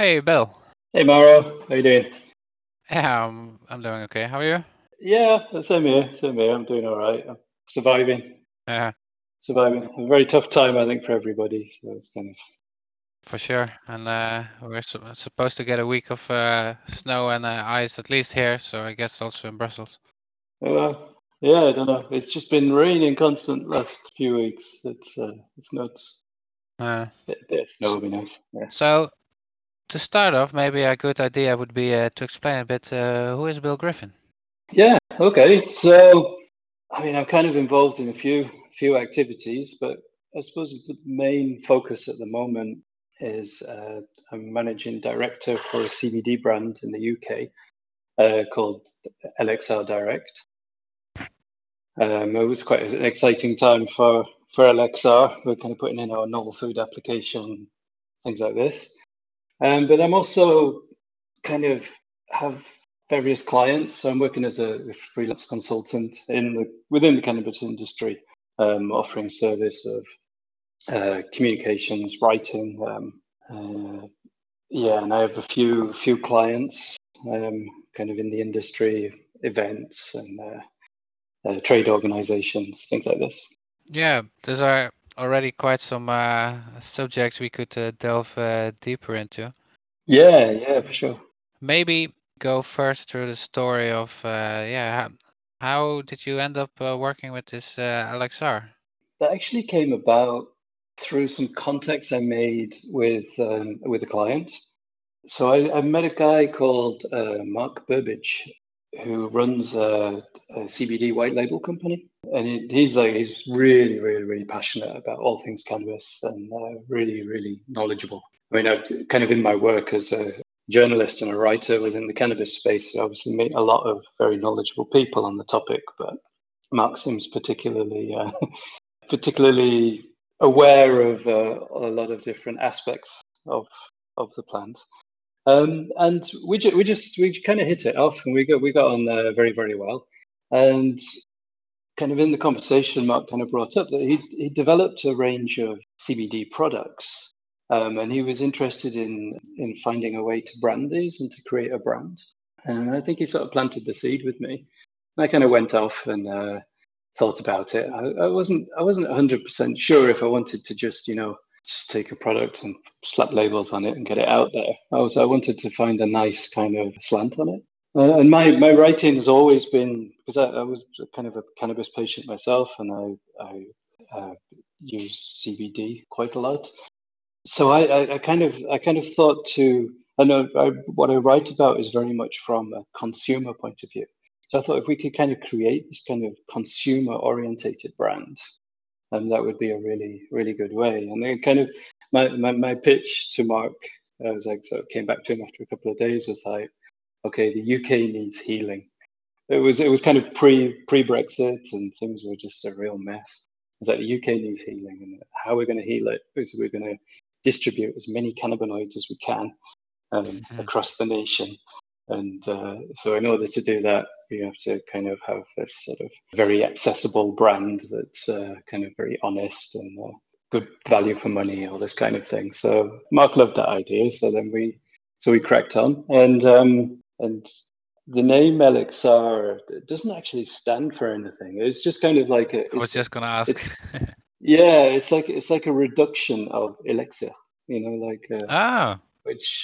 Hey, Bill. Hey Maro, how you doing? Yeah, I'm doing okay. How are you? Yeah, same here, same here. I'm doing all right. I'm surviving, Yeah, surviving. A very tough time, I think, for everybody. So it's kind for sure. And we're supposed to get a week of snow and ice at least here, so I guess also in Brussels. yeah, I don't know. It's just been raining constant last few weeks. It's nuts. Uh, Bit of snow s- would be nice. Yeah. so to start off, maybe a good idea would be to explain a bit who is Bill Griffin. Yeah. Okay. So, I mean, I'm kind of involved in a few activities, but I suppose the main focus at the moment is I'm managing director for a CBD brand in the UK called LXR Direct. It was quite an exciting time for LXR. We're kind of putting in our novel food application, things like this. But I'm also kind of have various clients. So I'm working as a freelance consultant within the cannabis industry, offering service of communications, writing. Yeah, and I have a few clients, kind of in the industry, events and trade organizations, things like this. Yeah, those are already quite some subjects we could delve deeper into. Yeah, for sure. Maybe go first through the story of yeah, how did you end up working with this LXR? That actually came about through some contacts I made with a client. So I met a guy called Mark Burbage, who runs a CBD white label company, and he's really passionate about all things cannabis and really knowledgeable. I mean, I've kind of in my work as a journalist and a writer within the cannabis space, I obviously meet a lot of very knowledgeable people on the topic, but Mark seems particularly aware of a lot of different aspects of the plant. And we kind of hit it off, and we got on very well. And kind of in the conversation, Mark kind of brought up that he developed a range of CBD products, and he was interested in finding a way to brand these and to create a brand. And I think he sort of planted the seed with me. And I kind of went off and thought about it. I wasn't 100% sure if I wanted to just take a product and slap labels on it and get it out there. I wanted to find a nice kind of slant on it. And my writing has always been because I was kind of a cannabis patient myself, and I use CBD quite a lot. So I kind of thought to I know what I write about is very much from a consumer point of view. So I thought if we could kind of create this kind of consumer orientated brand, and that would be a really good way. And then kind of my pitch to Mark, I was like, so came back to him after a couple of days, was like, okay, the UK needs healing. It was kind of pre Brexit, and things were just a real mess. It's like the UK needs healing, and how we're going to heal it is we're going to distribute as many cannabinoids as we can Mhm. across the nation. And so, in order to do that, you have to kind of have this sort of very accessible brand that's kind of very honest and good value for money, all this kind of thing. So Mark loved that idea. So we cracked on, and the name Elixir doesn't actually stand for anything. It's just kind of like I was just gonna ask. it's yeah, it's like a reduction of elixir, like Oh, which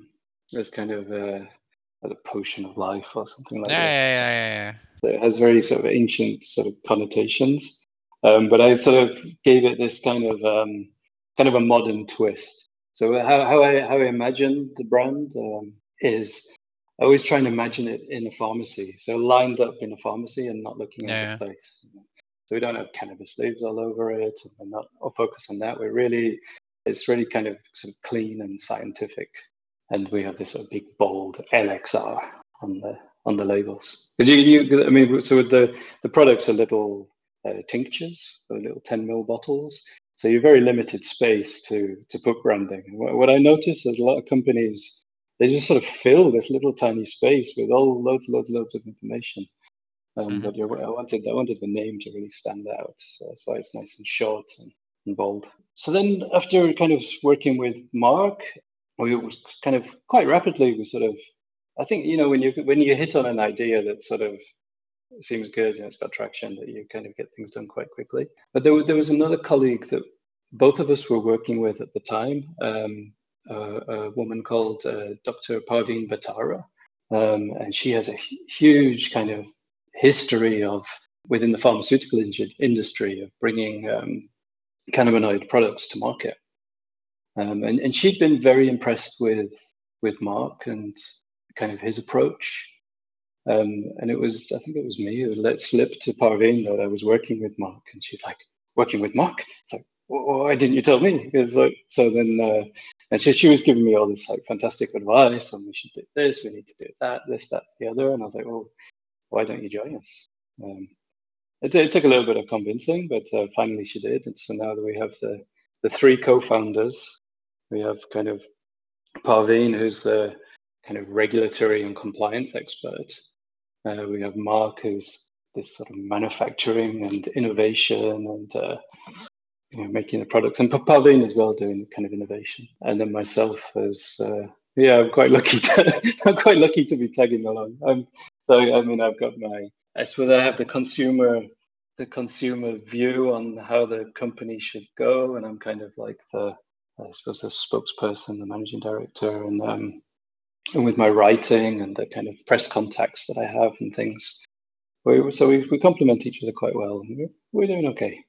is kind of like a potion of life or something like this. yeah. So it has very sort of ancient sort of connotations, but I sort of gave it this kind of a modern twist. So how I imagine the brand is I always try and imagine it in a pharmacy, so lined up in a pharmacy and not looking out of Yeah. place. So we don't have cannabis leaves all over it, and we're not all focused on that. It's really kind of sort of clean and scientific, and we have this sort of big bold LXR on the labels. Because I mean, so with the products are little tinctures, so little 10 ml bottles. So you're very limited space to put branding. What I notice is a lot of companies they just sort of fill this little tiny space with all loads of information. Mhm. But yeah, I wanted the name to really stand out. So that's why it's nice and short and bold. So then after kind of working with Mark, we was kind of quite rapidly, we sort of, I think, when you hit on an idea that sort of seems good and it's got traction, that you kind of get things done quite quickly. But there was another colleague that both of us were working with at the time, a woman called Dr. Parveen Batara. And she has a huge kind of history within the pharmaceutical industry of bringing cannabinoid products to market. And she'd been very impressed with Mark and kind of his approach. And I think it was me who let slip to Parveen that I was working with Mark, and she's like, "Working with Mark?" It's like, "Why didn't you tell me?" It's like, so then, and she was giving me all this like fantastic advice on we should do this, we need to do that, this, that, the other, and I was like, "Well, why don't you join us?" It took a little bit of convincing, but finally she did, and so now that we have the three co-founders, we have kind of Parveen, who's the kind of regulatory and compliance expert. We have Mark, who's this sort of manufacturing and innovation and making the products, and Parveen as well doing kind of innovation. And then myself as I'm quite lucky to be tagging along. So I mean, I've got I suppose I have the consumer view on how the company should go, and I'm kind of like the spokesperson, the managing director, and with my writing and the kind of press contacts that I have and things. We complement each other quite well. We're doing okay.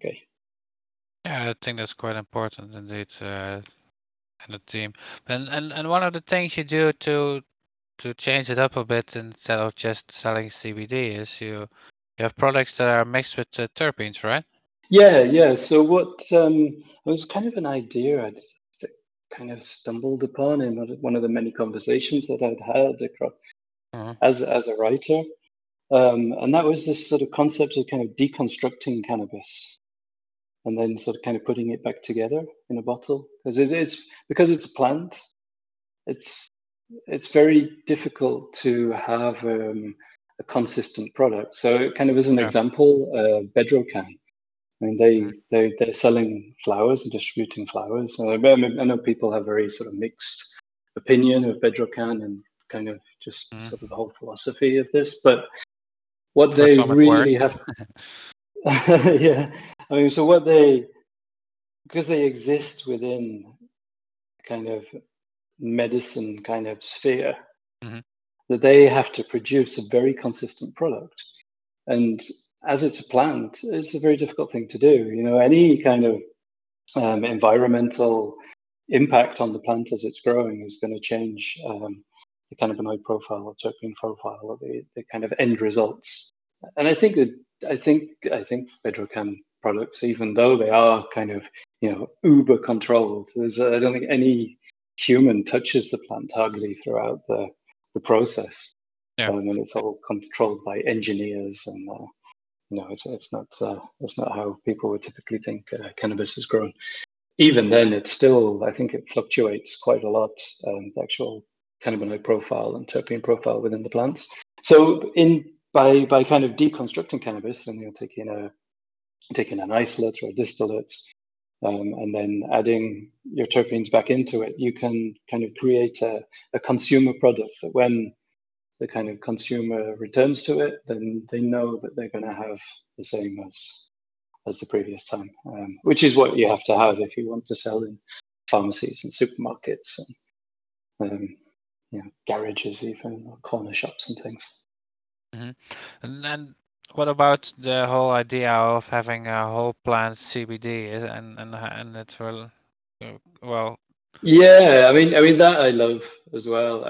Yeah, I think that's quite important indeed, in the team. And one of the things you do to change it up a bit instead of just selling CBD is you have products that are mixed with terpenes, right? Yeah. So what it was kind of an idea I'd kind of stumbled upon in one of the many conversations that I'd had across as a writer, and that was this sort of concept of kind of deconstructing cannabis, and then sort of kind of putting it back together in a bottle because it's a plant. It's very difficult to have a consistent product. So kind of as an example, Bedrocan. I mean, they're selling flowers and distributing flowers. I know people have very sort of mixed opinion of Bedrocan and kind of just sort of the whole philosophy of this. But what they really have, yeah. I mean, so because they exist within kind of medicine kind of sphere, that they have to produce a very consistent product. And as it's a plant, it's a very difficult thing to do. Any kind of environmental impact on the plant as it's growing is going to change the cannabinoid profile or terpene profile or the kind of end results. And I think Bedrocan products, even though they are kind of uber controlled, I don't think any human touches the plant hardly throughout the process. And it's all controlled by engineers, and it's not how people would typically think cannabis is grown. Even then, it's still, I think it fluctuates quite a lot, the actual cannabinoid profile and terpene profile within the plants. So by kind of deconstructing cannabis and taking an isolate or a distillate, and then adding your terpenes back into it, you can kind of create a consumer product that when the kind of consumer returns to it, then they know that they're going to have the same as the previous time, which is what you have to have if you want to sell in pharmacies and supermarkets and garages, even, or corner shops and things. And then what about the whole idea of having a whole plant CBD and it's well? Yeah, I mean that I love as well.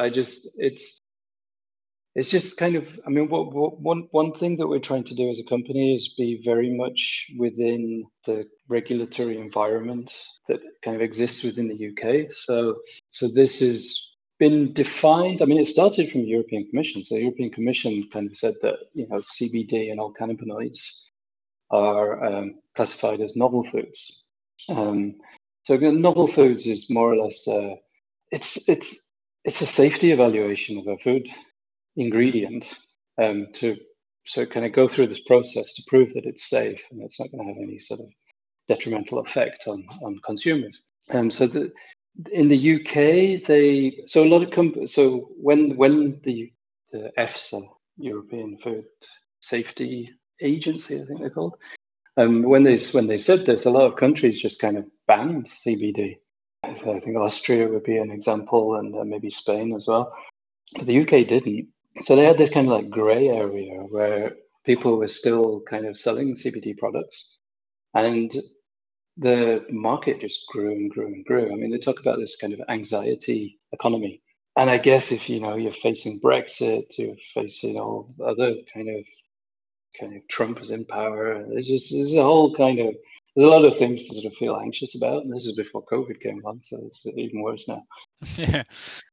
It's just kind of, I mean, one thing that we're trying to do as a company is be very much within the regulatory environment that kind of exists within the UK. So this has been defined. I mean, it started from the European Commission. So the European Commission kind of said that CBD and all cannabinoids are classified as novel foods. So novel foods is more or less it's a safety evaluation of a food ingredient to kind of go through this process to prove that it's safe and it's not going to have any sort of detrimental effect on consumers. So In the UK, so a lot of so when the EFSA, European Food Safety Agency, I think they're called, when they said this, a lot of countries just kind of banned CBD. I think Austria would be an example, and maybe Spain as well. But the UK didn't. So they had this kind of like grey area where people were still kind of selling CBD products, and the market just grew and grew and grew. I mean, they talk about this kind of anxiety economy. And I guess if you're facing Brexit, you're facing all other kind of Trump is in power. There's a whole there's a lot of things to sort of feel anxious about. And this is before COVID came along, so it's even worse now. Yeah.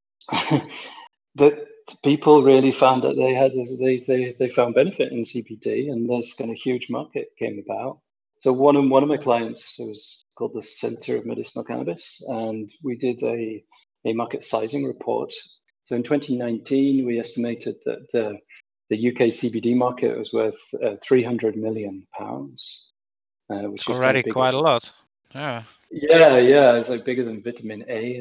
But people really found that they found benefit in CBD, and this kind of huge market came about. So one of my clients was called the Center of Medicinal Cannabis, and we did a market sizing report. So in 2019, we estimated that the UK CBD market was worth £300 million, which is Already quite a lot. Yeah. Yeah, it's like bigger than vitamin A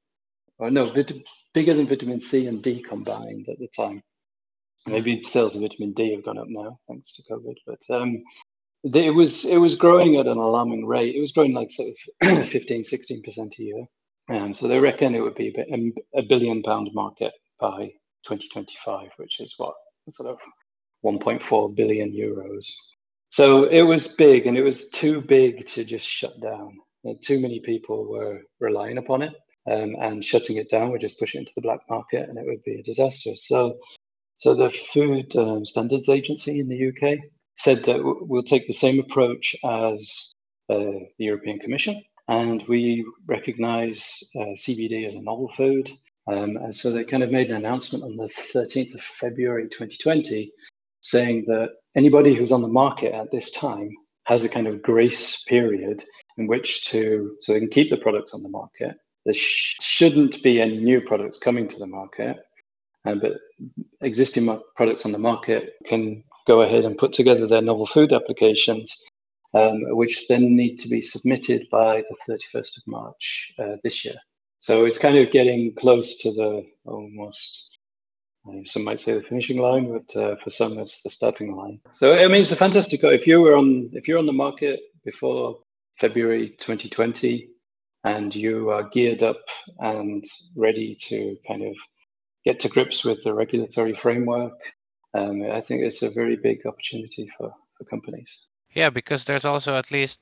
bigger than vitamin C and D combined at the time. Maybe sales of vitamin D have gone up now thanks to COVID, but it was growing at an alarming rate. It was growing like sort of 15, 16% a year. So they reckon it would be a £1 billion market by 2025, which is what, sort of 1.4 billion euros. So it was big, and it was too big to just shut down. Too many people were relying upon it, and shutting it down would just push it into the black market, and it would be a disaster. So the Food Standards Agency in the UK said that we'll take the same approach as the European Commission, and we recognise CBD as a novel food. And so they kind of made an announcement on the 13th of February 2020, saying that anybody who's on the market at this time has a kind of grace period in which so they can keep the products on the market. There shouldn't be any new products coming to the market, but existing products on the market can go ahead and put together their novel food applications, which then need to be submitted by the 31st of March this year. So it's kind of getting close to the almost, some might say the finishing line, but for some it's the starting line. So I mean, it's a fantastic. If you're on the market before February 2020, and you are geared up and ready to kind of get to grips with the regulatory framework, I think it's a very big opportunity for companies. Yeah, because there's also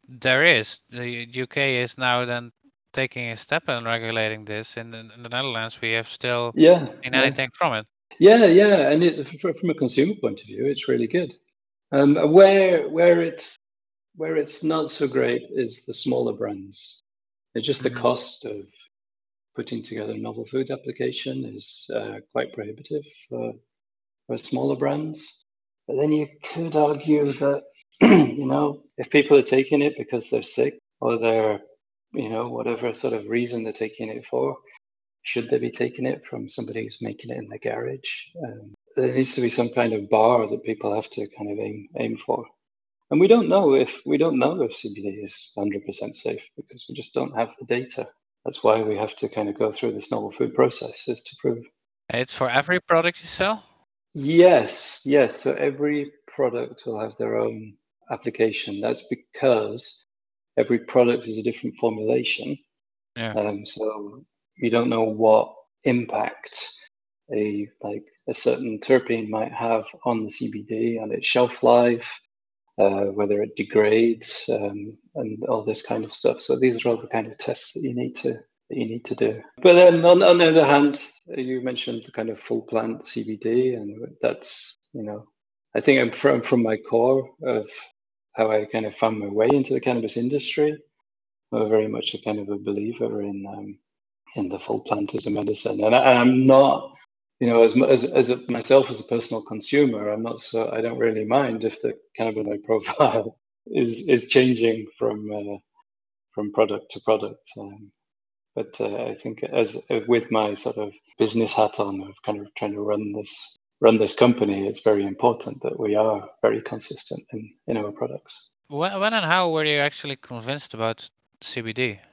the UK is now then taking a step in regulating this. In the Netherlands, we have still seen anything from it. Yeah, and from a consumer point of view, it's really good. Where it's not so great is the smaller brands. It's just the cost of putting together a novel food application is quite prohibitive for smaller brands. But then you could argue that if people are taking it because they're sick, or they're whatever sort of reason they're taking it for, should they be taking it from somebody who's making it in their garage? There needs to be some kind of bar that people have to kind of aim for. And we don't know if CBD is 100% safe, because we just don't have the data. That's why we have to kind of go through this novel food process, is to prove. It's for every product you sell? Yes. So every product will have their own application. That's because every product is a different formulation. Yeah. So you don't know what impact a certain terpene might have on the CBD, on its shelf life, whether it degrades, and all this kind of stuff. So these are all the kind of tests that you need to do. But then on the other hand, you mentioned the kind of full plant CBD, and that's I think I'm from my core of how I kind of found my way into the cannabis industry. I'm very much a kind of a believer in the full plant as a medicine, and I'm not, as myself as a personal consumer, I'm not I don't really mind if the cannabinoid profile is changing from product to product. But I think as with my sort of business hat on of kind of trying to run this company, it's very important that we are very consistent in our products. When and how were you actually convinced about CBD?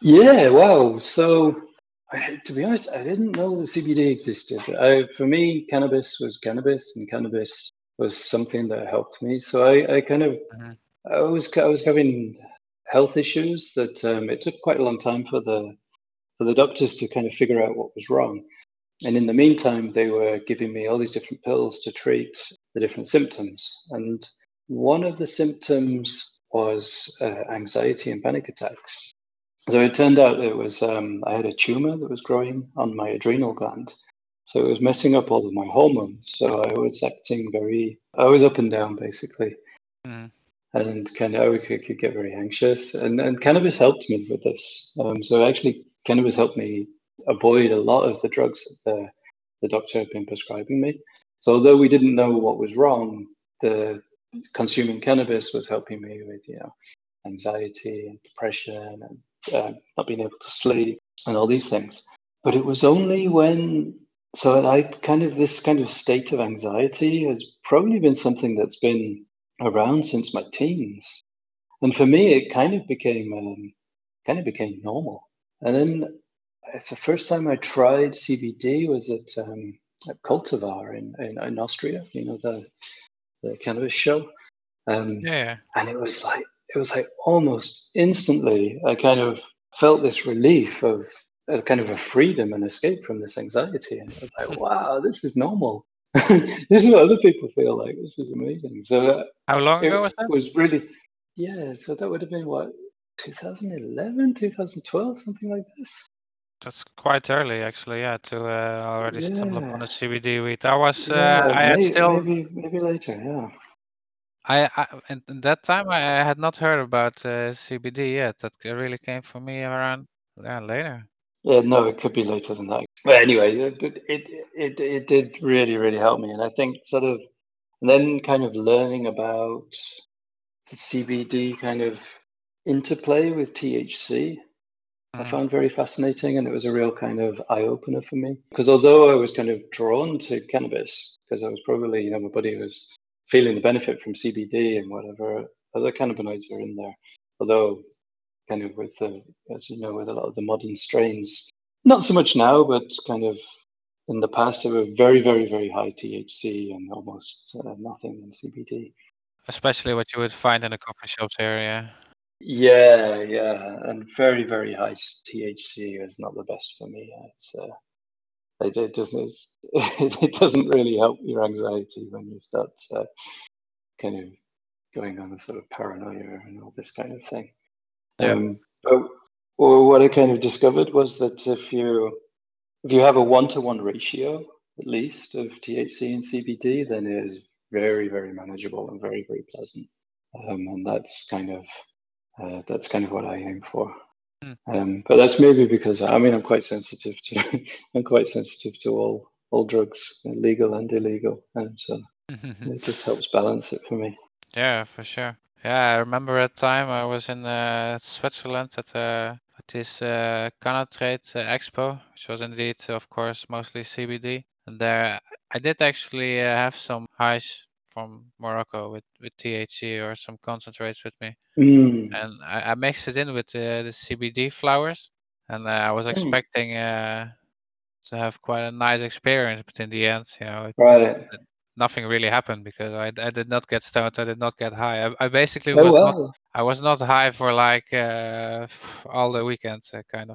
Yeah, wow. So, to be honest, I didn't know that CBD existed. For me, cannabis was cannabis, and cannabis was something that helped me. So I kind of, Mhm. I was having health issues that it took quite a long time for the doctors to kind of figure out what was wrong. And in the meantime, they were giving me all these different pills to treat the different symptoms. And one of the symptoms was anxiety and panic attacks. So it turned out it was I had a tumor that was growing on my adrenal gland. So it was messing up all of my hormones. So I was I was up and down basically, Mhm. and kind of I could get very anxious. And cannabis helped me with this. So actually, cannabis helped me avoid a lot of the drugs that the doctor had been prescribing me. So although we didn't know what was wrong, the consuming cannabis was helping me with anxiety and depression and not being able to sleep and all these things. But it was only when, so I kind of, this kind of state of anxiety has probably been something that's been around since my teens. And for me, it kind of became normal. And then the first time I tried CBD was at Cultivar in Austria, the cannabis show. Yeah. And it was like almost instantly I kind of felt this relief of a kind of a freedom and escape from this anxiety. And it was like, wow, this is normal. This is what other people feel like. This is amazing. So How long it ago was that? was really, yeah. So that would have been what, 2011, 2012, something like this. That's quite early, actually. Yeah, to already stumble upon Yeah, a CBD weed. I was, yeah. I had still, Maybe later. Yeah. in that time, I had not heard about CBD yet. That really came for me around, yeah, later. Yeah, no, it could be later than that. But anyway, it did really help me, and I think sort of, and then kind of learning about the CBD kind of interplay with THC, I Mhm. found very fascinating, and it was a real kind of eye opener for me. Because although I was kind of drawn to cannabis, because I was probably, my body was feeling the benefit from CBD and whatever other cannabinoids are in there, although kind of with as you know, with a lot of the modern strains. Not so much now, but kind of in the past, they were very high THC and almost nothing in CBD. Especially what you would find in the coffee shops area. Yeah, and very high THC is not the best for me. It doesn't it doesn't really help your anxiety when you start kind of going on a sort of paranoia and all this kind of thing. Yeah. But well, what I kind of discovered was that if you have a 1-to-1 ratio, at least, of THC and CBD, then it is very manageable and very pleasant. And that's kind of what I aim for. Mm. But that's maybe because I mean I'm quite sensitive to I'm quite sensitive to all drugs, legal and illegal, and so it just helps balance it for me. Yeah, for sure. Yeah, I remember a time I was in Switzerland at this Canatrade Expo, which was indeed, of course, mostly CBD. And there, I did actually have some highs from Morocco with THC or some concentrates with me, Mm. and I mixed it in with the CBD flowers, and I was Mm. expecting to have quite a nice experience, but in the end, Right. nothing really happened because I did not get stoned. I did not get high. I basically Oh was not. well. I was not high for like all the weekends, kind of.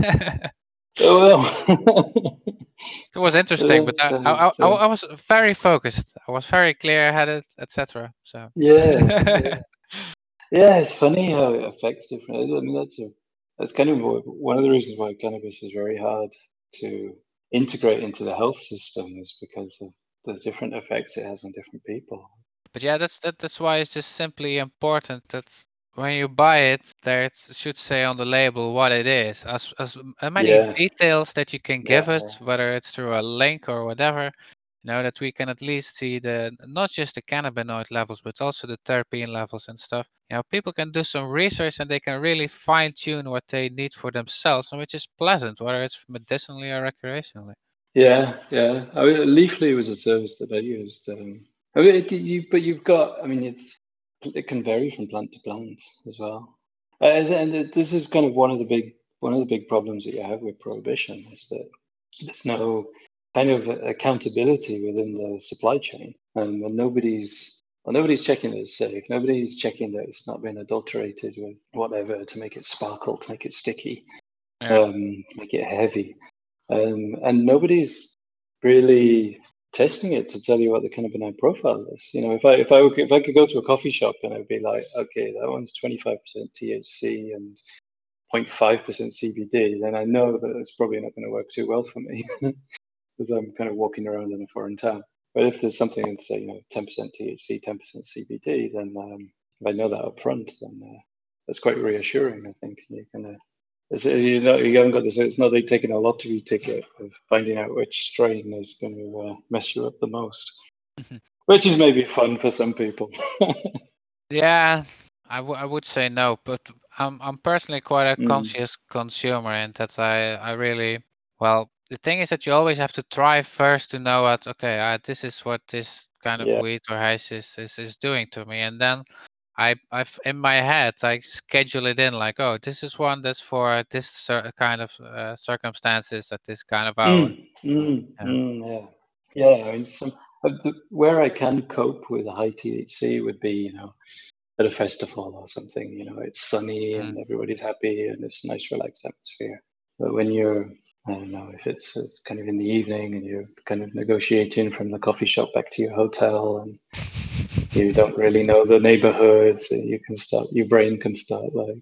Oh well. It was interesting, but That's, I was very focused. I was very clear-headed, etc. So. yeah. Yeah, it's funny how it affects different. I mean, that's kind of one of the reasons why cannabis is very hard to integrate into the health system is because of the different effects it has on different people. But yeah, that's why it's just simply important that when you buy it, there it should say on the label what it is. As many Yeah, details that you can give yeah, it, whether it's through a link or whatever, that we can at least see the not just the cannabinoid levels, but also the terpene levels and stuff. People can do some research and they can really fine tune what they need for themselves, and which is pleasant, whether it's medicinally or recreationally. yeah. I mean, Leafly was a service that I used. I mean, but you've got. I mean, it can vary from plant to plant as well. And this is kind of one of the big one of the big problems that you have with prohibition is that there's no kind of accountability within the supply chain, and nobody's checking that it's safe. Nobody's checking that it's not been adulterated with whatever to make it sparkle, to make it sticky, Yeah. make it heavy, and nobody's really testing it to tell you what the cannabinoid profile is. You know, if I could go to a coffee shop and I'd be like, okay, that one's 25% THC and 0.5% CBD, then I know that it's probably not going to work too well for me because I'm kind of walking around in a foreign town. But if there's something that's say 10% THC, 10% CBD, then if I know that up front, then that's quite reassuring. I think you can. You haven't got this. It's not like taking a lottery ticket of finding out which strain is going to mess you up the most, which is maybe fun for some people. Yeah, I would say no, but I'm personally quite a Mm, conscious consumer, and that I really, well, the thing is that you always have to try first to know what, okay, this is what this kind of yeah. weed or hash is doing to me, and then I've in my head I schedule it in like, oh, this is one that's for this kind of circumstances at this kind of hour. Yeah. Yeah. Yeah. I mean, where I can cope with high THC would be, at a festival or something. It's sunny and Mm. everybody's happy and it's a nice, relaxed atmosphere. But when you're, I don't know, if it's kind of in the evening and you're kind of negotiating from the coffee shop back to your hotel and you don't really know the neighborhoods, your brain can start like,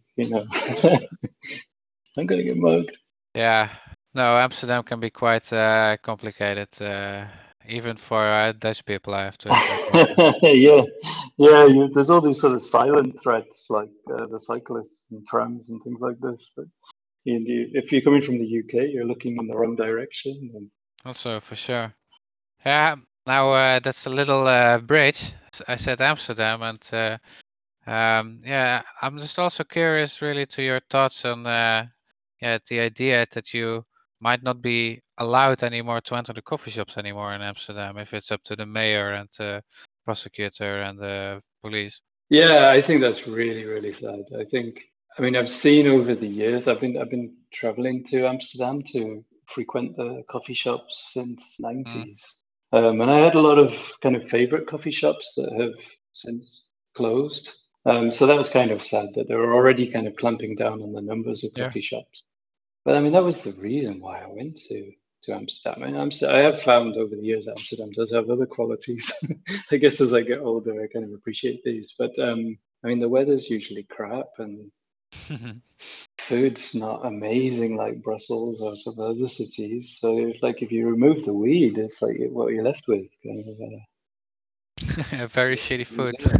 I'm gonna get mugged. Yeah, no, Amsterdam can be quite complicated, even for Dutch people, I have to admit. Yeah, yeah. There's all these sort of silent threats, like the cyclists and trams and things like this. That if you're coming from the UK, you're looking in the wrong direction. And Also, for sure. Yeah, now that's a little bridge. I said Amsterdam, and yeah, I'm just also curious, really, to your thoughts on yeah, the idea that you might not be allowed anymore to enter the coffee shops anymore in Amsterdam if it's up to the mayor and the prosecutor and the police. yeah, I think that's really, really sad. I mean, I've seen over the years. I've been traveling to Amsterdam to frequent the coffee shops since Mm, '90s, and I had a lot of kind of favorite coffee shops that have since closed. So that was kind of sad that they were already kind of clamping down on the numbers of yeah. coffee shops. But I mean, that was the reason why I went to Amsterdam. I mean, I have found over the years Amsterdam does have other qualities. I guess as I get older, I kind of appreciate these. But I mean, the weather's usually crap and food's not amazing like Brussels or some other cities. So if you remove the weed, it's like what you're left with, kind of Very shitty food. museum.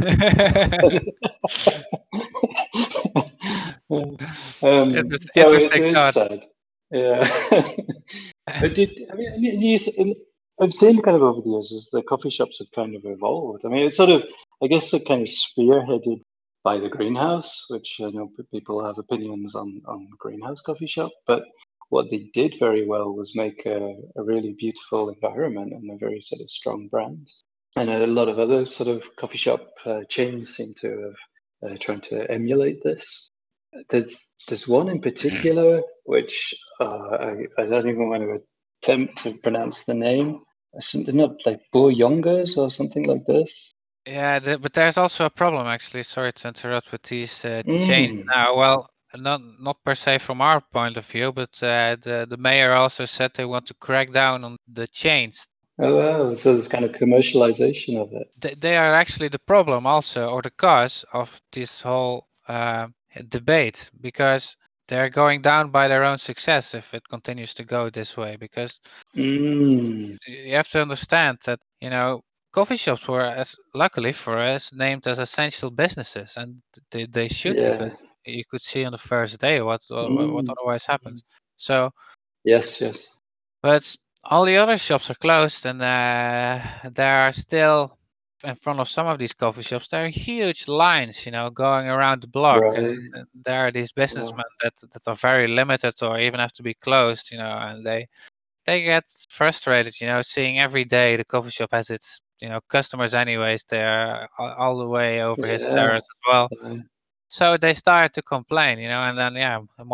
So it's Interesting it's thought. sad. Yeah. But I mean, I've seen kind of over the years as the coffee shops have kind of evolved. I mean, it's sort of, I guess, it kind of spearheaded by the greenhouse, which I know people have opinions on greenhouse coffee shop. But what they did very well was make a really beautiful environment and a very sort of strong brand. And a lot of other sort of coffee shop chains seem to have trying to emulate this. There's one in particular which I don't even want to attempt to pronounce the name. They're not like Boyongas or something like this. Yeah, but there's also a problem actually. Sorry to interrupt with these chains Mm. now. Well, not per se from our point of view, but the mayor also said they want to crack down on the chains. Oh wow! So there's kind of commercialization of it. They are actually the problem also, or the cause of this whole debate, because they're going down by their own success if it continues to go this way. Because Mm. you have to understand that, coffee shops were, as luckily for us, named as essential businesses, and they should, because Yeah. you could see on the first day what Mm. otherwise happens. So, Yes. Yes. but all the other shops are closed, and there are still in front of some of these coffee shops there are huge lines, going around the block, Right. and there are these Wow. businessmen that are very limited or even have to be closed, and they get frustrated, seeing every day the coffee shop has its, customers anyways there all the way over his Yeah. terrace as well. Yeah. So they start to complain, and then, yeah, more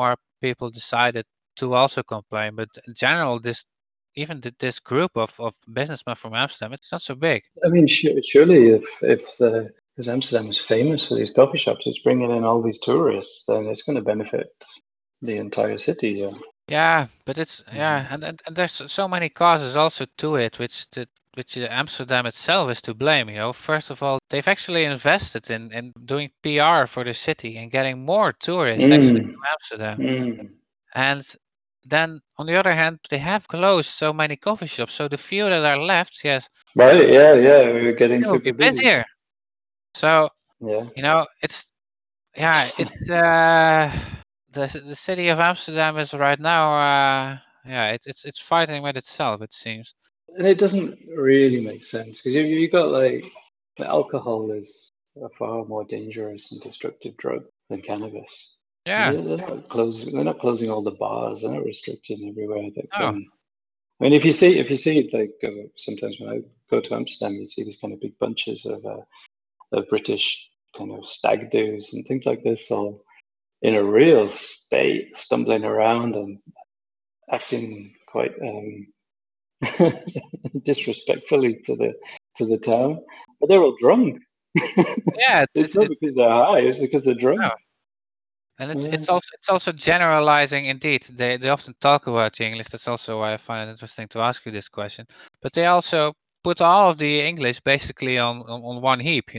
people decided to also complain. But in general, this group of businessmen from Amsterdam, it's not so big. I mean, surely because Amsterdam is famous for these coffee shops, it's bringing in all these tourists, then it's going to benefit the entire city. Yeah. Yeah, but it's and there's so many causes also to it, which Amsterdam itself is to blame. First of all, they've actually invested in doing PR for the city and getting more tourists actually Mm, to Amsterdam. mm. And then on the other hand, they have closed so many coffee shops. So the few that are left, yes, Right. Yeah. Yeah. We're getting they will be super busy. busier. So Yeah. it's the city of Amsterdam is right now it's fighting with itself, it seems. And it doesn't really make sense because you got like alcohol is a far more dangerous and destructive drug than cannabis. And Yeah. they're not closing. They're not closing all the bars. They're not restricting everywhere that Oh, can. I mean, if you see like sometimes when I go to Amsterdam, you see these kind of big bunches of British kind of stag doos and things like this, all in a real state, stumbling around and acting quite disrespectfully to the town, but they're all drunk. yeah. It's not because they're high; it's because they're drunk. Oh, and it's Yeah. it's also it's also generalizing. Indeed, they often talk about the English. That's also why I find it interesting to ask you this question. But they also put all of the English basically on one heap.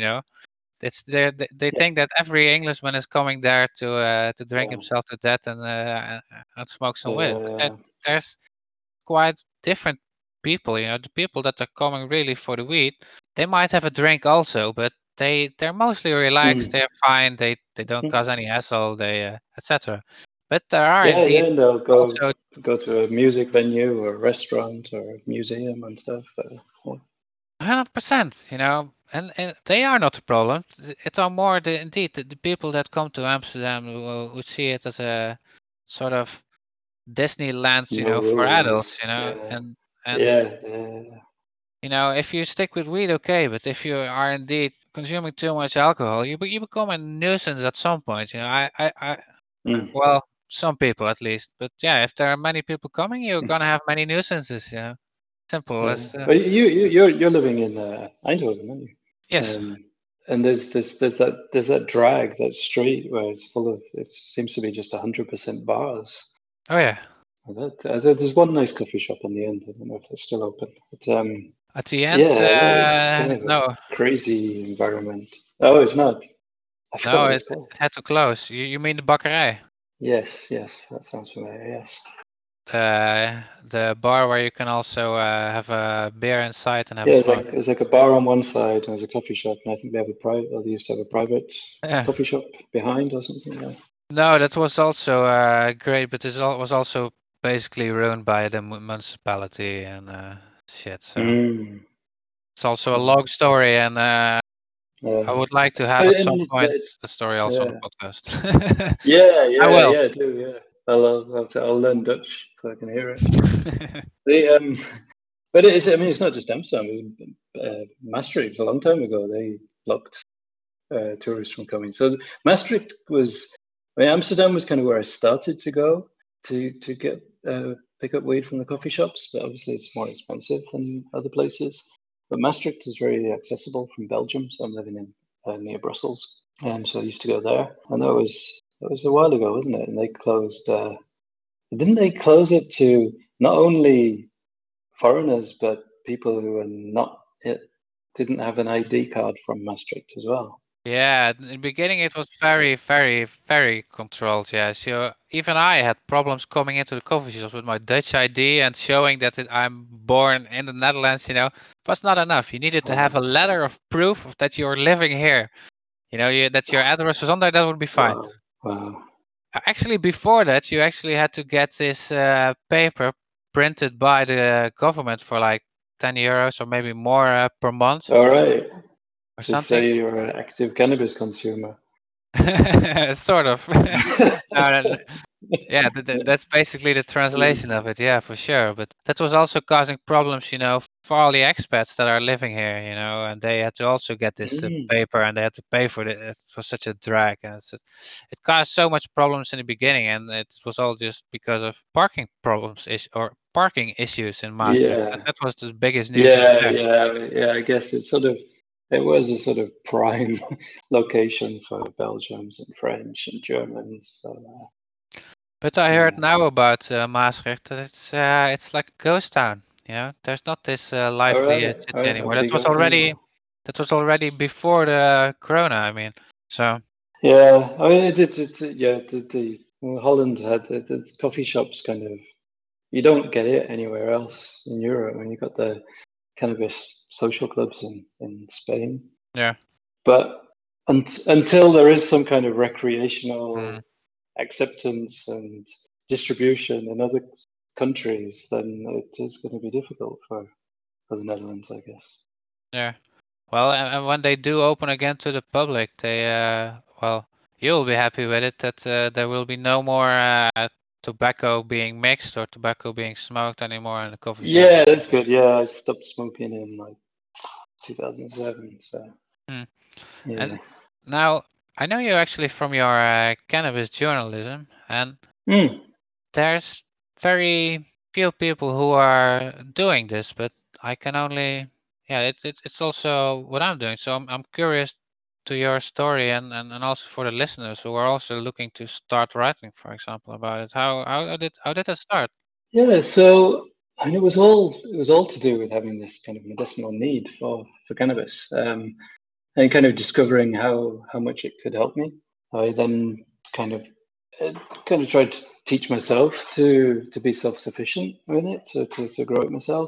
They Yeah. think that every Englishman is coming there to drink Yeah. himself to death and smoke some weed. But Yeah. there's quite different people. The people that are coming really for the weed, they might have a drink also, but they're mostly relaxed. Mm. They're fine. They don't cause any hassle. They etc. But there are Yeah. indeed Yeah. And they'll also go to a music venue or a restaurant or a museum and stuff. Yeah. 100%. And they are not the problem. It are more the people that come to Amsterdam who see it as a sort of Disneyland, No for rules. adults, Yeah. and Yeah. Yeah. if you stick with weed, okay, but if you are indeed consuming too much alcohol, you become a nuisance at some point. Mm. Well, some people at least, but yeah, if there are many people coming, you're gonna have many nuisances. Simple Yeah. as But you're living in Eindhoven, aren't you? yes. And there's that drag, that street where it's full of, it seems to be just 100% bars. Oh yeah. And there's one nice coffee shop on the end. I don't know if it's still open, but At the end, yeah, it's kind of a no, crazy environment. Oh, it's not. I forgot no, what it, it's called. it had to close. You mean the bakkerij? Yes, yes, that sounds familiar. Yes. The bar where you can also have a beer inside and have a Yeah, smoke. there's like a bar on one side and there's a coffee shop, and I think they have a private, or they used to have a private Yeah. coffee shop behind or something. Yeah. No, that was also great, but was also basically ruined by the municipality and shit. So Mm. it's also a Yeah. long story, and I Yeah. would like to So, have I at some mean, point the story also on yeah, the podcast. yeah, I yeah, will. yeah, I do, yeah. I'll learn Dutch so I can hear it. The but it is. I mean, it's not just Amsterdam. It was, Maastricht a long time ago. They blocked tourists from coming. So Maastricht was. I mean, Amsterdam was kind of where I started to go to get pick up weed from the coffee shops. But obviously, it's more expensive than other places. But Maastricht is very accessible from Belgium. So I'm living in near Brussels. So I used to go there, and that was a while ago, wasn't it? And they closed. Didn't they close it to not only foreigners but people who were not it didn't have an ID card from Maastricht as well? Yeah, in the beginning it was very, very, very controlled. Yeah, so even I had problems coming into the coffee shops with my Dutch ID and showing that I'm born in the Netherlands. It was not enough. You needed to have a Wow, letter of proof of that you're living here. That your address was on there. That would be fine. wow, wow! Actually, before that, you actually had to get this paper printed by the government for like 10 euros or maybe more per month All right, or to something. say you're an active cannabis consumer. Sort of. No, yeah, that's basically the translation of it. Yeah, for sure. But that was also causing problems, for all the expats that are living here, and they had to also get this paper, and they had to pay for it for such a drag, and it caused so much problems in the beginning, and it was all just because of parking problems or parking issues in Maastricht. Yeah. That was the biggest news over there. Yeah. I guess it was a sort of prime location for Belgians and French and Germans. So, But I heard now about Maastricht that it's like a ghost town. There's not this lively all city right, anymore. nobody goes anymore. That was already before the Corona. I mean, so Yeah, I mean, yeah, Holland had the coffee shops kind of, you don't get it anywhere else in Europe. I mean, you've got the cannabis social clubs in Spain. yeah. But until there is some kind of recreational Mm. acceptance and distribution in other countries, then it is going to be difficult for the Netherlands, I guess. Yeah. Well, and when they do open again to the public, you'll be happy with it that there will be no more tobacco being mixed or tobacco being smoked anymore in the coffee shop. Yeah, that's good. Yeah, I stopped smoking in like 2007. So Hmm. yeah. And now I know you actually from your cannabis journalism, and Mm. there's very few people who are doing this, but I can only, it's also what I'm doing. So I'm curious to your story and also for the listeners who are also looking to start writing, for example, about it. How did that start? Yeah, so I mean, it was all to do with having this kind of medicinal need for cannabis, and kind of discovering how much it could help me. I then kind of uh, kind of tried to teach myself to be self-sufficient with it, to grow it myself.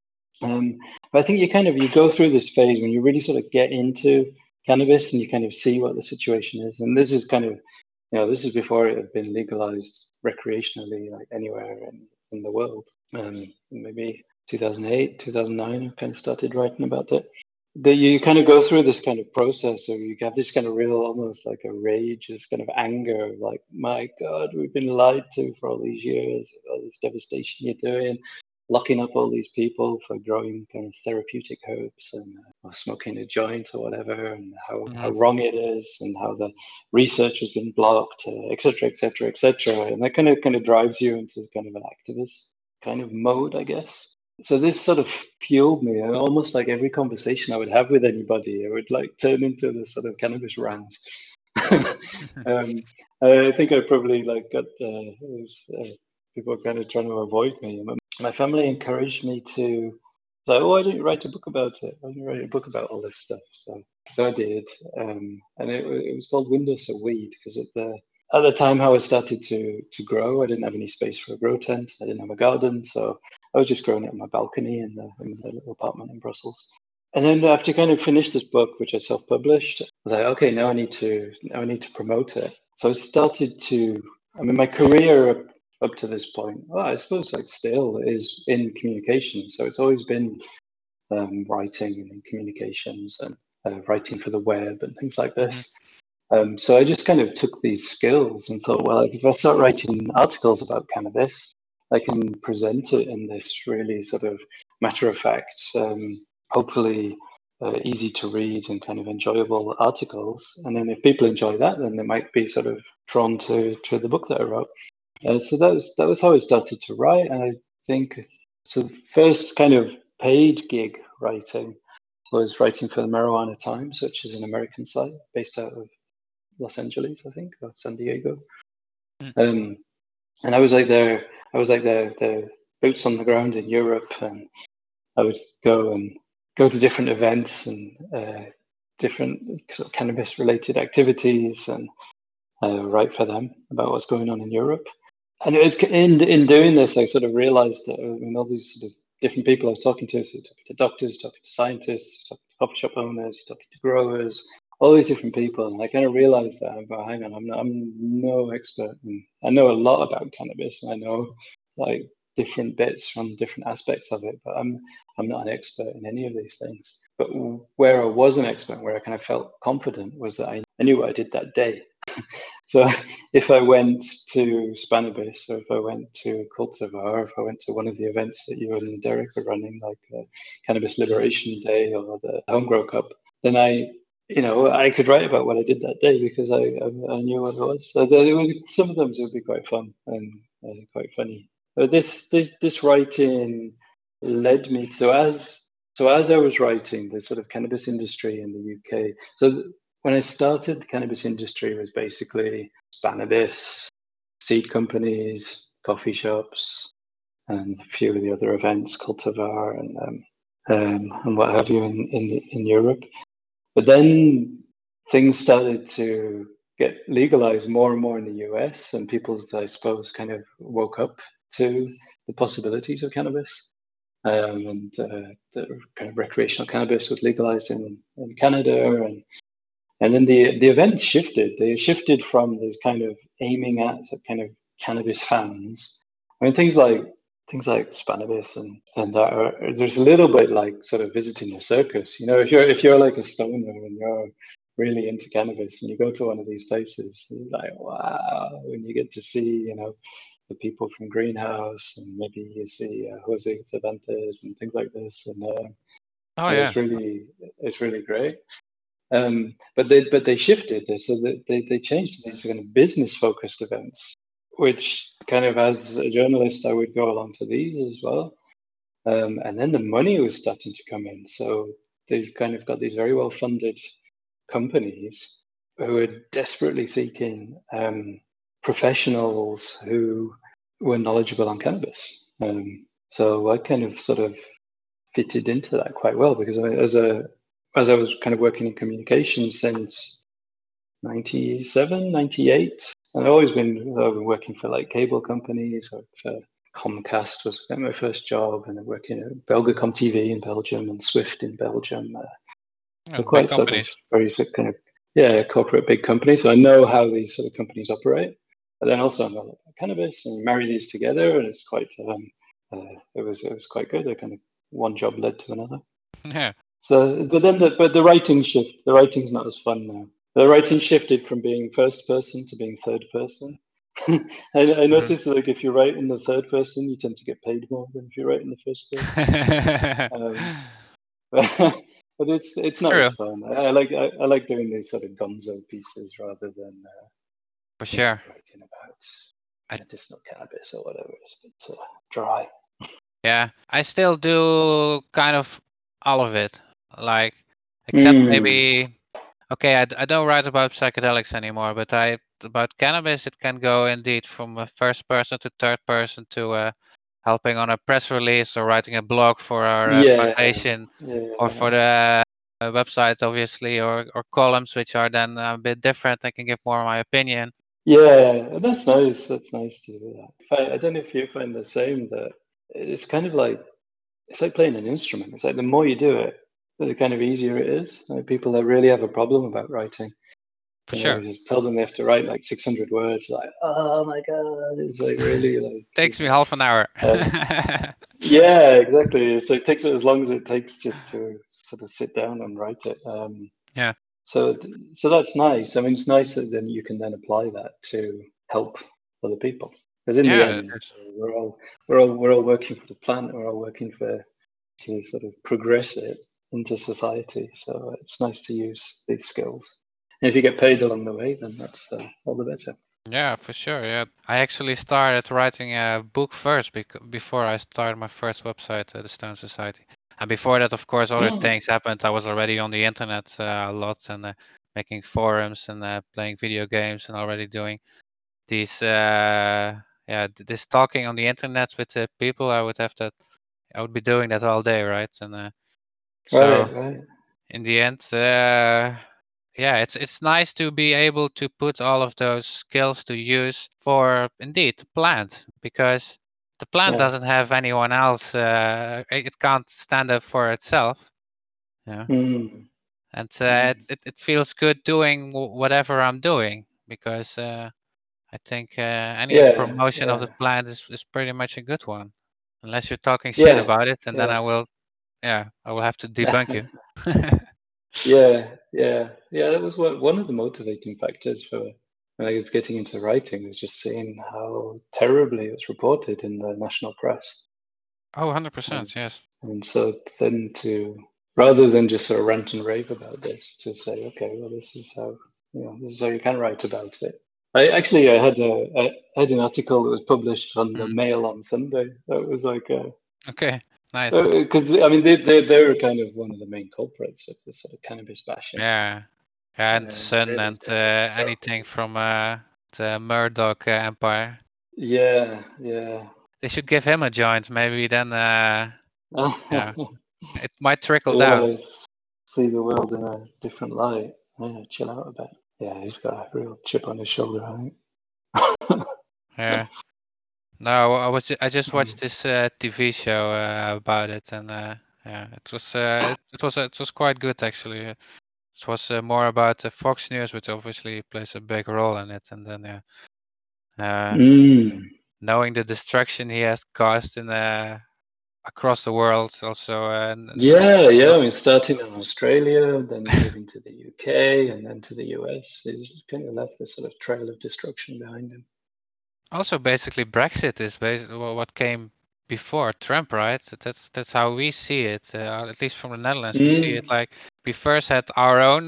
But I think you go through this phase when you really sort of get into cannabis and you kind of see what the situation is. And this is kind of, this is before it had been legalized recreationally, like anywhere in the world. Maybe 2008, 2009, I kind of started writing about it. That you kind of go through this kind of process, or you have this kind of real, almost like a rage, this kind of anger, of like, my God, we've been lied to for all these years, all this devastation you're doing, locking up all these people for growing kind of therapeutic herbs and or smoking a joint or whatever, and how Hmm. wrong it is, and how the research has been blocked, etc., etc., etc. And that kind of drives you into kind of an activist kind of mode, I guess. So this sort of fueled me, and almost like every conversation I would have with anybody, I would like turn into this sort of cannabis rant. I think I probably like got people kind of trying to avoid me. My family encouraged me to, like, why don't you write a book about it? Why don't you write a book about all this stuff? So I did, and it was called Windows of Weed because at the time how I started to grow, I didn't have any space for a grow tent. I didn't have a garden, so I was just growing it on my balcony in the little apartment in Brussels. And then after kind of finished this book, which I self-published, I was like, okay, now I need to promote it. So I started to. I mean, my career up to this point, well, I suppose like still is in communications. So it's always been writing and communications and writing for the web and things like Hmm. this. So I just kind of took these skills and thought, well, if I start writing articles about cannabis, I can present it in this really sort of matter of fact, hopefully easy to read and kind of enjoyable articles. And then if people enjoy that, then they might be sort of drawn to the book that I wrote. So that was how I started to write, and I think so. The first kind of paid gig writing was writing for the Marijuana Times, which is an American site based out of Los Angeles, I think, or San Diego. Um, and I was like their boots on the ground in Europe, and I would go to different events and different sort of cannabis related activities and write for them about what's going on in Europe. And in doing this, I sort of realized that all these sort of different people I was talking to, so talking to doctors, talking to scientists, talking to coffee shop owners, talking to growers, all these different people, and I kind of realized that, hang on, I'm no expert, and I know a lot about cannabis, and I know like different bits from different aspects of it, but I'm not an expert in any of these things. But where I was an expert, where I kind of felt confident, was that I knew what I did that day. So if I went to Spannabis, or if I went to Cultivar, or if I went to one of the events that you and Derek are running, like Cannabis Liberation Day or the Homegrow Cup, then I could write about what I did that day because I knew what it was. So some of them would be quite fun and quite funny. But this writing led me to as I was writing the sort of cannabis industry in the UK. So when I started, the cannabis industry was basically Spannabis, seed companies, coffee shops, and a few of the other events, Cultivar and what have you in Europe. But then things started to get legalized more and more in the US, and people, I suppose, kind of woke up to the possibilities of cannabis. And the kind of recreational cannabis was legalized in Canada, and then the event shifted. They shifted from this kind of aiming at kind of cannabis fans. I mean, things like Spannabis and that there's a little bit like sort of visiting a circus. If you're like a stoner and you're really into cannabis and you go to one of these places, you're like, wow, when you get to see, the people from Greenhouse, and maybe you see Jose Cervantes and things like this, and Oh yeah. it's really great. But they shifted this, so that they changed these kind of business focused events, which kind of, as a journalist, I would go along to these as well. And then the money was starting to come in, so they've kind of got these very well funded companies who are desperately seeking professionals who were knowledgeable on cannabis. So I kind of sort of fitted into that quite well because as I was kind of working in communications since 97, 98, and I've been working for like cable companies. Comcast was my first job, and I'm working at Belgacom TV in Belgium and Swift in Belgium. Yeah, So big quite sort of companies. very sort of kind of corporate big companies. So I know how these sort of companies operate, but then also I know about cannabis, and marry these together, and it's quite it was quite good. They kind of one job led to another. Yeah. So, but the writing shift. The writing's not as fun now. The writing shifted from being first person to being third person. I Mhm. noticed like if you write in the third person, you tend to get paid more than if you write in the first person. But it's It's not true, as fun. I like doing these sort of gonzo pieces rather than for sure. writing about I, medicinal cannabis or whatever. It's a bit dry. yeah, I still do kind of all of it, like except Mm. maybe. Okay, I don't write about psychedelics anymore, but about cannabis it can go indeed from a first person to third person to helping on a press release or writing a blog for our Yeah, foundation or yeah. for the website, obviously, or columns which are then a bit different. I can give more of my opinion. Yeah, that's nice. That's nice to do that. I don't know if you find the same, that it's kind of like it's like playing an instrument. It's like the more you do it, the kind of easier it is. Like people that really have a problem about writing, For sure. just tell them they have to write like 600 words. Like, oh my god, it's like really like. Takes me half an hour. Yeah, exactly. So it takes it as long as it takes just to sort of sit down and write it. Yeah. So that's nice. I mean, it's nice that then you can then apply that to help other people. Because in the Yeah, it end, is. we're all working for the planet. We're all working to sort of progress it into society. So it's nice to use these skills. And if you get paid along the way, then that's all the better. Yeah, for sure. Yeah, I actually started writing a book first before I started my first website, the Stone Society. And before that, of course, other Oh, things happened. I was already on the internet a lot and making forums and playing video games and already doing these, this talking on the internet with people. I would be doing that all day, right? And so right, right. in the end, yeah, it's nice to be able to put all of those skills to use for indeed the plant, because the plant Yeah. doesn't have anyone else. It can't stand up for itself. Yeah, Mm, and mm. it feels good doing whatever I'm doing, because I think any Yeah, promotion of yeah, the plant is pretty much a good one, unless you're talking shit yeah, about it, and then yeah. I will have to debunk you. Yeah, yeah, yeah. That was one of the motivating factors for when I was getting into writing, was just seeing how terribly it's reported in the national press. Oh, 100%, yes. And so then rather than just sort of rant and rave about this, to say, okay, well, this is how you can write about it. I had an article that was published on the Mail on Sunday. That was like Okay, nice. because I mean they were kind of one of the main culprits of this sort of cannabis bashing. Yeah, and Sun really and anything from the Murdoch empire. Yeah. They should give him a joint. Maybe then, yeah, Yeah, it might trickle down. see the world in a different light. Yeah, chill out a bit. Yeah, he's got a real chip on his shoulder, I think. Yeah. No, I just watched this TV show about it, and yeah, it was quite good actually. It was more about Fox News, which obviously plays a big role in it, and then knowing the destruction he has caused in across the world, also. Yeah. I mean, starting in Australia, then moving to the UK, and then to the US, he's kind of left this sort of trail of destruction behind him. Also, basically, Brexit is basically what came before Trump, right? That's how we see it. At least from the Netherlands, we see it like we first had our own,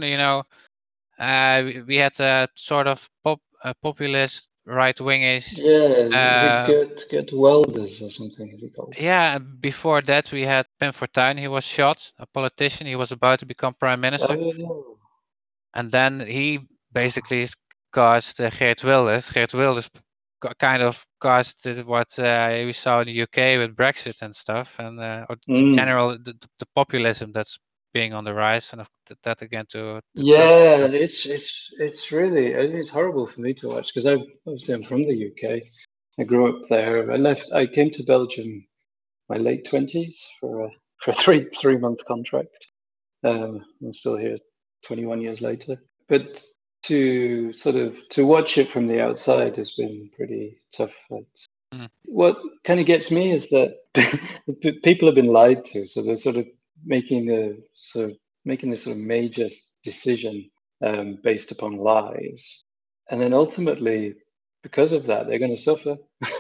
we had a sort of populist right-wingish. Yeah, is it Gert Wilders or something? Is he called? Yeah, before that we had Pim Fortuyn. He was shot, a politician. He was about to become prime minister, and then he basically caused Geert Wilders. Geert Wilders kind of caused what we saw in the UK with Brexit and stuff, and or general the populism that's being on the rise, and that again to Trump. Yeah, it's really it's horrible for me to watch because I'm from the UK. I grew up there. I came to Belgium my late 20s for a 3 month contract. I'm still here 21 years later. But to watch it from the outside has been pretty tough. What kind of gets me is that people have been lied to, so they're sort of making this sort of major decision based upon lies, and then ultimately, because of that, they're going to suffer.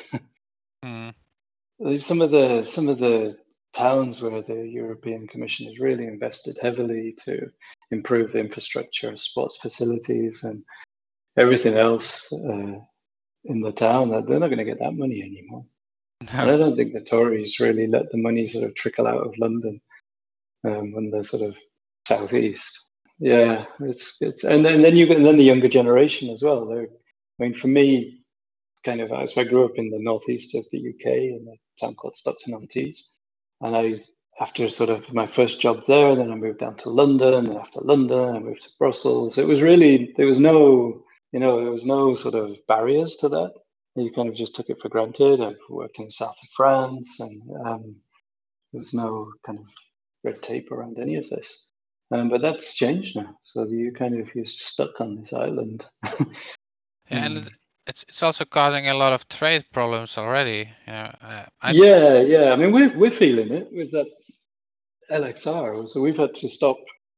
Some of the towns where the European Commission has really invested heavily to improve the infrastructure, sports facilities, and everything else in the town, they're not going to get that money anymore. No. And I don't think the Tories really let the money sort of trickle out of London when they're sort of southeast. Yeah, it's and then the younger generation as well. I mean, for me, kind of, so I grew up in the northeast of the UK in a town called Stockton-on-Tees, and after sort of my first job there, then I moved down to London, and after London, I moved to Brussels. It was really there was no sort of barriers to that. You kind of just took it for granted. I've worked in the south of France, and there was no kind of red tape around any of this. But that's changed now. So you're stuck on this island. Yeah, and it's also causing a lot of trade problems already. Yeah. I mean, we're feeling it with that LXR. So we've had to stop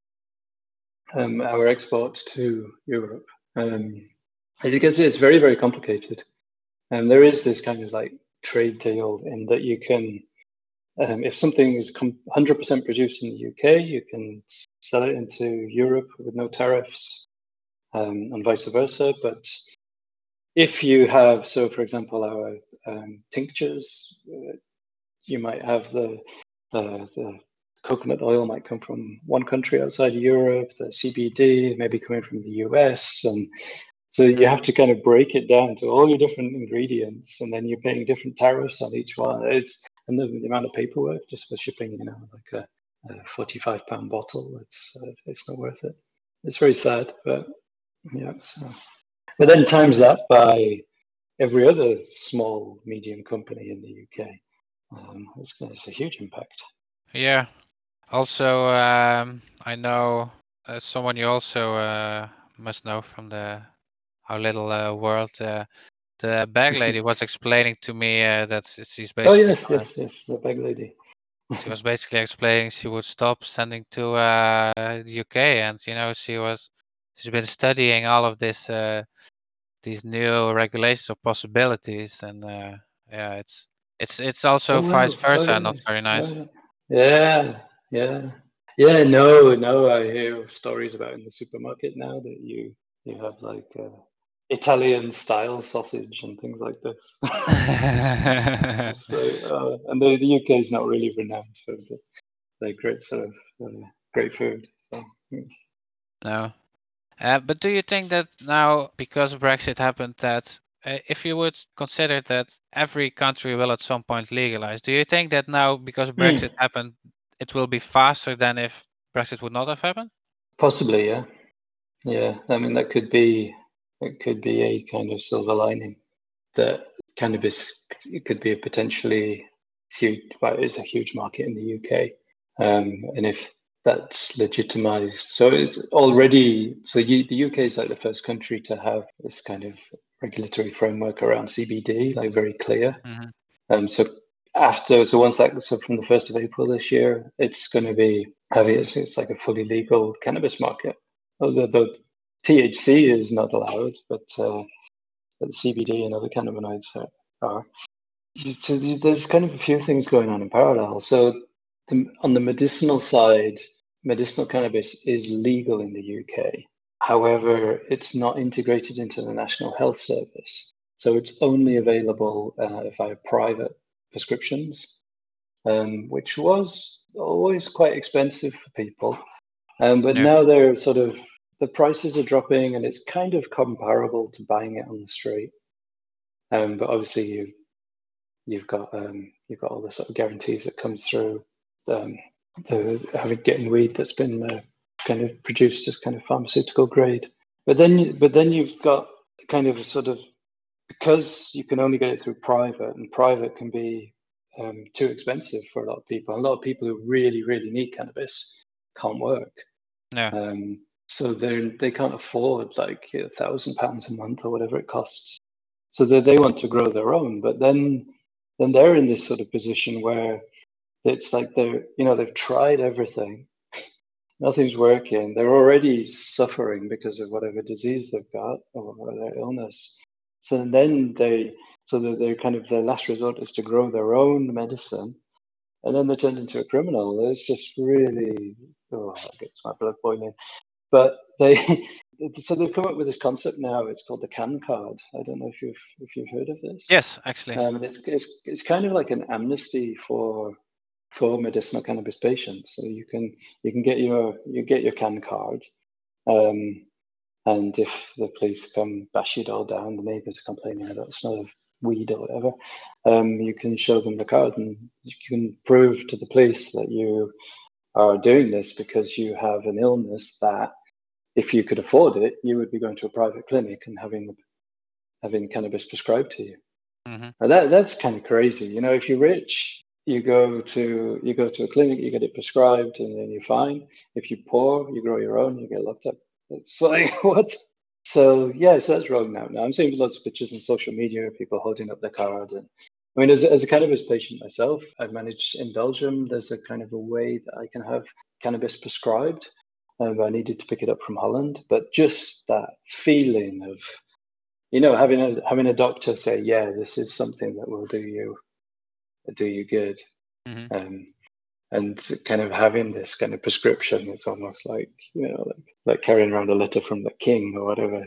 our exports to Europe. Because it's very, very complicated. And there is this kind of like trade deal in that you can, if something is 100% produced in the UK, you can sell it into Europe with no tariffs, and vice versa. But if you have, so for example, our tinctures, you might have the coconut oil might come from one country outside of Europe, the CBD maybe coming from the US, and so you have to kind of break it down to all your different ingredients, and then you're paying different tariffs on each one. And the amount of paperwork just for shipping, like a £45 bottle, it's not worth it. It's very sad, but yeah. But then times that by every other small, medium company in the UK. It's a huge impact. Yeah. Also, I know someone you also must know from our little world. The bag lady was explaining to me that she's basically. Oh yes, the bag lady. She was basically explaining she would stop sending to the UK, and she's been studying all of this these new regulations or possibilities, and yeah, it's also Oh vice wow! Oh versa, yeah! not very nice. Oh, yeah! Yeah! Yeah! No! I hear stories about in the supermarket now that you have like Italian style sausage and things like this. So, and the UK is not really renowned for their great sort of great food. So, No. But do you think that now, because Brexit happened, that if you would consider that every country will at some point legalize, do you think that now, because Brexit happened, it will be faster than if Brexit would not have happened? possibly, yeah, yeah. I mean, it could be a kind of silver lining that cannabis could be a potentially huge, well, it is a huge market in the UK, and if that's legitimized, so it's already the UK is like the first country to have this kind of regulatory framework around CBD, like very clear. So from the 1st of April this year, it's going to be it's like a fully legal cannabis market. Although THC is not allowed, but the CBD and other cannabinoids are. So there's kind of a few things going on in parallel. So on the medicinal side, medicinal cannabis is legal in the UK. However, it's not integrated into the National Health Service. So it's only available via private prescriptions, which was always quite expensive for people. But Yeah. now the prices are dropping and it's kind of comparable to buying it on the street. But obviously you've got all the sort of guarantees that comes through getting weed that's been kind of produced as kind of pharmaceutical grade. But then you've got kind of a sort of, because you can only get it through private, and private can be too expensive for a lot of people. A lot of people who really need cannabis can't work. Yeah. So they can't afford like £1,000 a month or whatever it costs. So they want to grow their own, but then they're in this sort of position where it's like they've tried everything, nothing's working. They're already suffering because of whatever disease they've got or their illness. So then they're kind of, their last resort is to grow their own medicine, and then they're turned into a criminal. It's just really, it gets my blood boiling. But they've come up with this concept now. It's called the CAN card. I don't know if you've heard of this. Yes, actually. And it's kind of like an amnesty for medicinal cannabis patients. So you can get your CAN card, and if the police come bash it all down, the neighbours are complaining about the smell of weed or whatever, you can show them the card and you can prove to the police that you are doing this because you have an illness that, if you could afford it, you would be going to a private clinic and having cannabis prescribed to you. Mm-hmm. Now that's kind of crazy. You know, if you're rich, you go to a clinic, you get it prescribed, and then you're fine. If you're poor, you grow your own, you get locked up. It's like what? So yeah, so that's wrong now. Now I'm seeing lots of pictures on social media of people holding up their card, and I mean, as a cannabis patient myself, I've managed in Belgium. There's a kind of a way that I can have cannabis prescribed. I needed to pick it up from Holland, but just that feeling of, having a doctor say, yeah, this is something that will do you good, Mm-hmm. and kind of having this kind of prescription, it's almost like, like carrying around a letter from the king or whatever.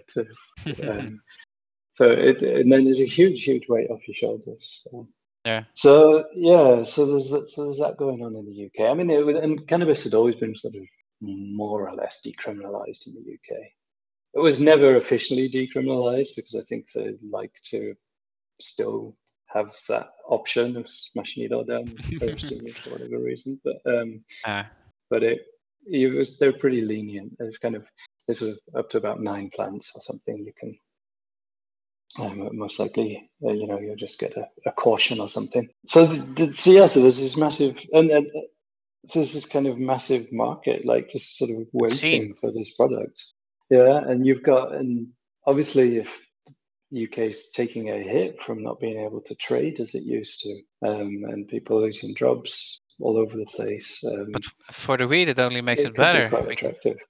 And then there's a huge weight off your shoulders. Yeah. So yeah, so there's that going on in the UK. I mean, and cannabis had always been sort of more or less decriminalized in the UK. It was never officially decriminalized because I think they like to still have that option of smashing it all down with Ferguson for whatever reason. But they're pretty lenient. This is up to about 9 plants or something. You can most likely, you'll just get a caution or something. So so there's this massive, and so there's this kind of massive market, like just sort of waiting for this product. Yeah, and obviously if UK's taking a hit from not being able to trade as it used to, and people losing jobs all over the place. But for the weed, it only makes it It could be better. quite attractive.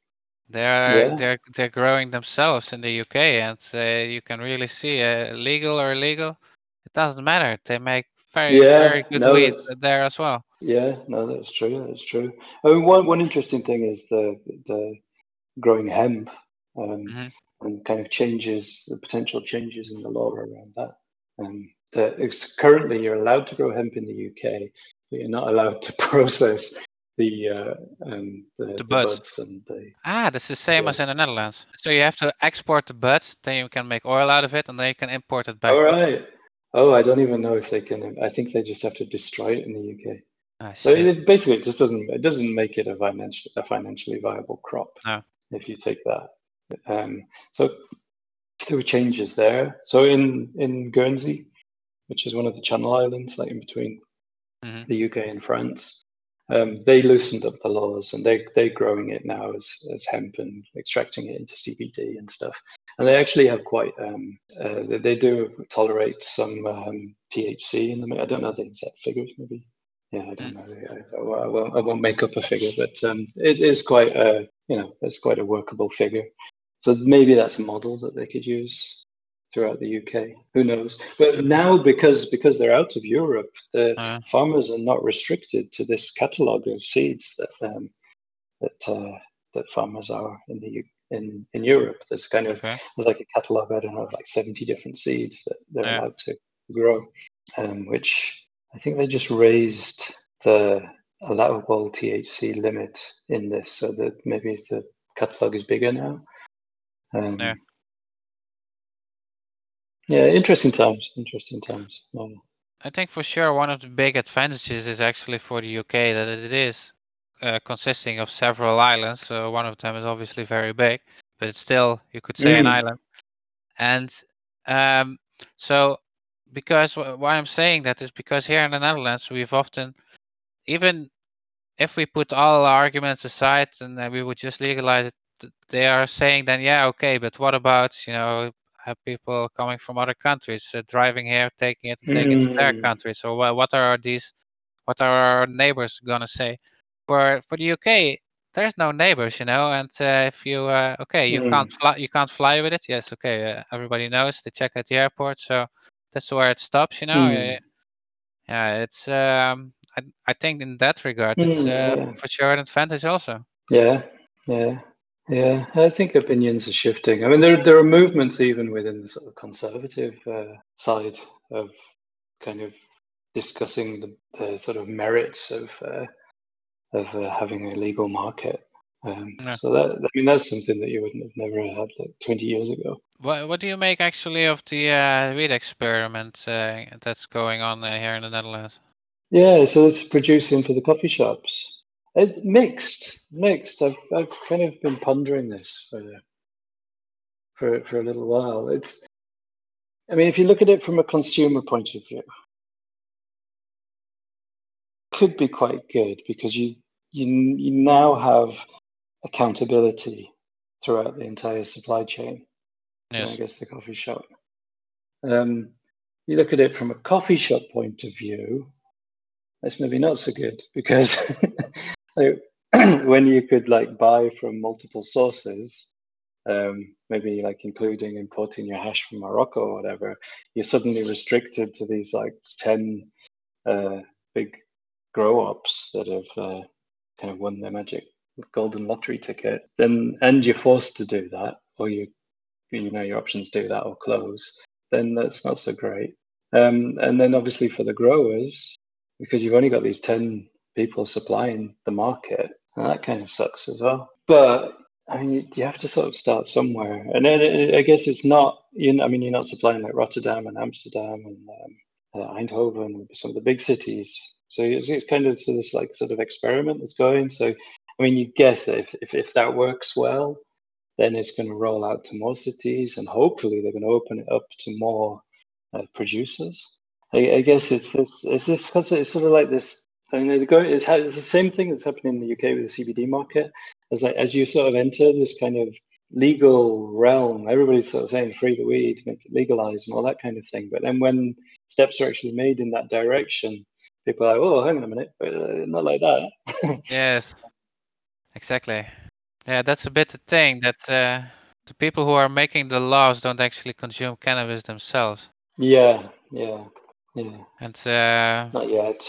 They're growing themselves in the UK, and you can really see legal or illegal. It doesn't matter. They make very good weed there as well. Yeah, no, that's true. That's true. I mean, one interesting thing is the growing hemp, Hmm. and kind of changes, the potential changes in the law around that. That it's currently you're allowed to grow hemp in the UK, but you're not allowed to process the buds. buds and the That's the same as in the Netherlands. So you have to export the buds, then you can make oil out of it, and then you can import it back. All right. Oh, I don't even know if they can. I think they just have to destroy it in the UK. So Shit. basically, it just doesn't make it a financially viable crop No. if you take that. So there were changes there. So in Guernsey, which is one of the Channel Islands, like in between the UK and France, they loosened up the laws, and they're growing it now as hemp and extracting it into CBD and stuff. And they actually have quite they do tolerate some THC in them. I don't know the exact figures, maybe. Yeah, I don't know. I won't make up a figure, but it is quite it's quite a workable figure. So maybe that's a model that they could use throughout the UK. Who knows? But now, because they're out of Europe, the farmers are not restricted to this catalogue of seeds that farmers are in Europe. There's kind of there's like a catalogue, I don't know, of like 70 different seeds that they're allowed to grow, which I think they just raised the allowable THC limit in this, so that maybe the catalogue is bigger now. Yeah, interesting times. I think for sure one of the big advantages is actually for the UK that it is consisting of several islands. So one of them is obviously very big, but it's still, you could say, an island. And so because why I'm saying that is because here in the Netherlands, we've often, even if we put all our arguments aside and we would just legalize it, they are saying then, yeah, okay, but what about, have people coming from other countries driving here, taking it to their country? So what are our neighbors gonna say? For the UK, there's no neighbors, and if you you can't fly with it. Yes, okay, everybody knows. They check at the airport, so that's where it stops. Yeah, it's I think in that regard, it's for sure an advantage also. Yeah. I think opinions are shifting. I mean, there are movements even within the sort of conservative side of kind of discussing the sort of merits of having a legal market. So that's something that you wouldn't have never had like 20 years ago. What do you make actually of the weed experiment that's going on here in the Netherlands? Yeah, so it's producing for the coffee shops. Mixed. I've kind of been pondering this for a little while. I mean, if you look at it from a consumer point of view, it could be quite good because you now have accountability throughout the entire supply chain. Yes. I guess the coffee shop. You look at it from a coffee shop point of view, that's maybe not so good because when you could like buy from multiple sources, maybe like including importing your hash from Morocco or whatever, you're suddenly restricted to these like 10 big grow ops that have kind of won their magic golden lottery ticket. And you're forced to do that, or your options do that or close. Then that's not so great. And then obviously for the growers, because you've only got these 10 people supplying the market, and that kind of sucks as well. But I mean, you have to sort of start somewhere. And then I guess it's not, you're not supplying like Rotterdam and Amsterdam and Eindhoven and some of the big cities. So it's kind of this like sort of experiment that's going. So, I mean, you guess that if that works well, then it's going to roll out to more cities, and hopefully they're going to open it up to more producers. I guess it's sort of like this. I mean, it's the same thing that's happening in the UK with the CBD market. As you sort of enter this kind of legal realm, everybody's sort of saying free the weed, make it legalized, and all that kind of thing. But then when steps are actually made in that direction, people are like, "Oh, hang on a minute, not like that." Yes, exactly. Yeah, that's a bit the thing that the people who are making the laws don't actually consume cannabis themselves. Yeah. And Not yet.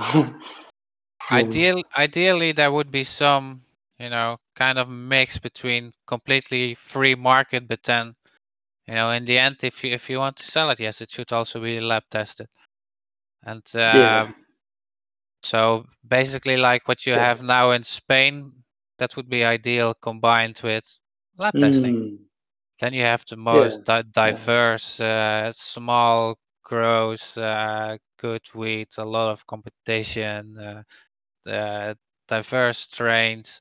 ideally, there would be some, kind of mix between completely free market, but then, in the end, if you want to sell it, yes, it should also be lab tested. And Yeah. so basically, like what you Yeah. have now in Spain, that would be ideal combined with lab testing. Mm. Then you have the Yeah. most diverse, small grows, good wheat, a lot of competition, diverse strains,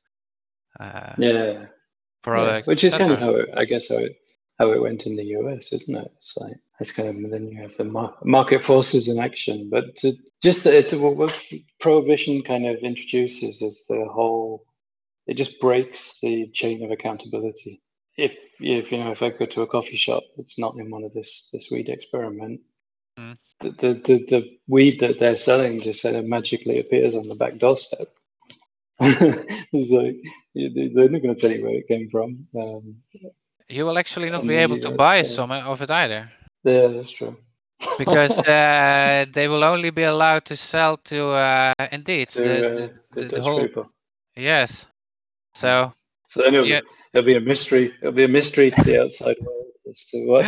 Yeah. products, Which is kind of etc. how how it went in the US, isn't it? It's like it's kind of then you have the market forces in action, but what prohibition kind of introduces is the whole. It just breaks the chain of accountability. If I go to a coffee shop that's not in one of this weed experiment, Mm. the weed that they're selling just kind of magically appears on the back doorstep. It's like they're not going to tell you where it came from. You will actually not From be the able to US. buy some of it either, Yeah, that's true. because they will only be allowed to sell to indeed The the Dutch whole people. yes. Yeah. So So then yeah, it'll be a mystery. It'll be a mystery to the outside world as to what.